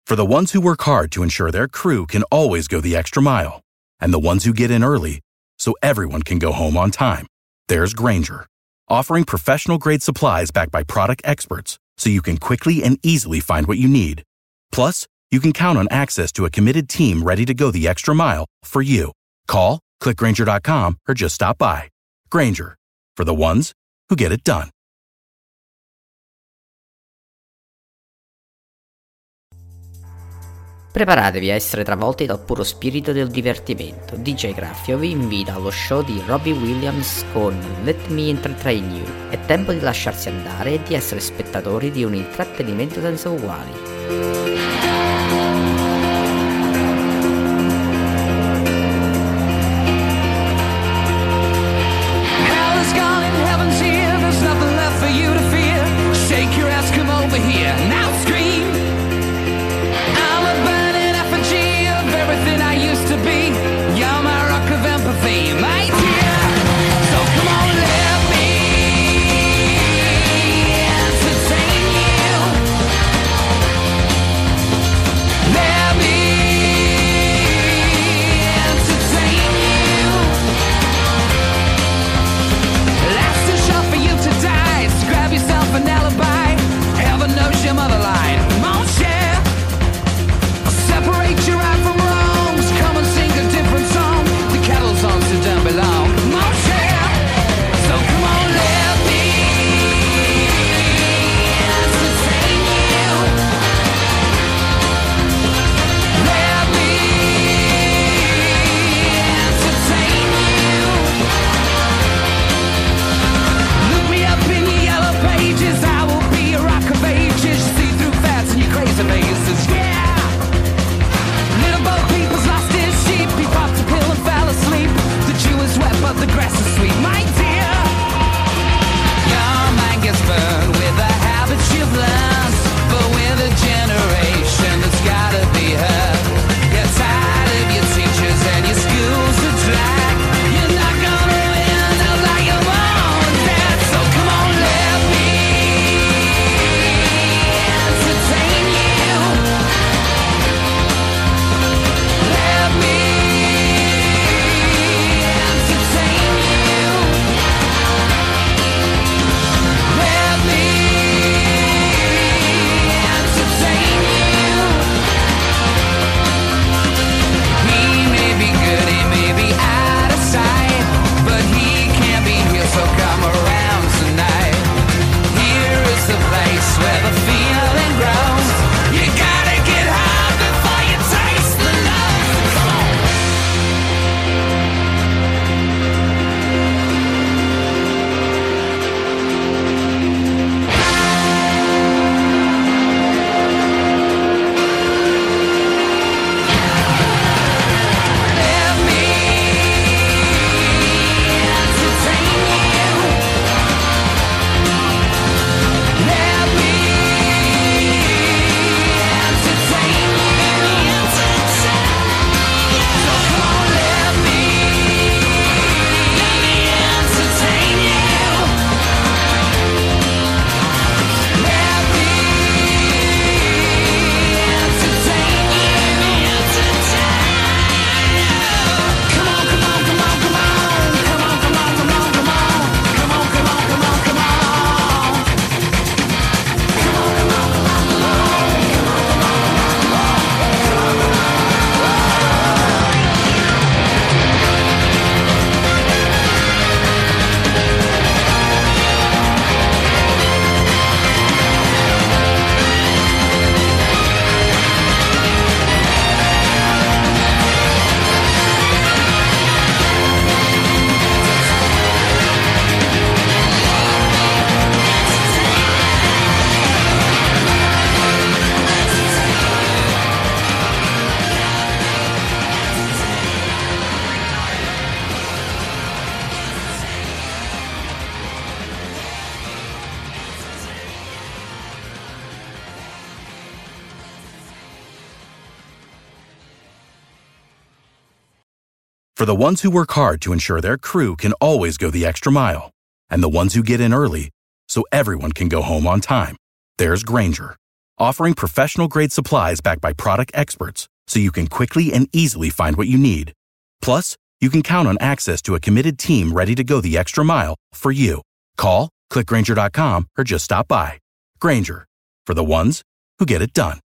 For the ones who work hard to ensure their crew can always go the extra mile, and the ones who get in early so everyone can go home on time, there's Grainger, offering professional-grade supplies backed by product experts so you can quickly and easily find what you need. Plus, you can count on access to a committed team ready to go the extra mile for you. Call, click Grainger.com, or just stop by. Grainger, for the ones who get it done. Preparatevi a essere travolti dal puro spirito del divertimento. DJ Graffio vi invita allo show di Robbie Williams con Let Me Entertain You. È tempo di lasciarsi andare e di essere spettatori di un intrattenimento senza uguali. For the ones who work hard to ensure their crew can always go the extra mile, and the ones who get in early so everyone can go home on time, there's Grainger, offering professional-grade supplies backed by product experts so you can quickly and easily find what you need. Plus, you can count on access to a committed team ready to go the extra mile for you. Call, click Grainger.com, or just stop by. Grainger, for the ones who get it done.